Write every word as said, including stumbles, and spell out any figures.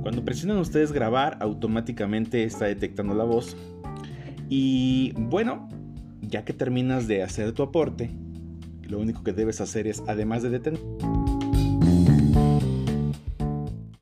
Cuando presionan ustedes grabar, automáticamente está detectando la voz. Y bueno, ya que terminas de hacer tu aporte, lo único que debes hacer es, además de detener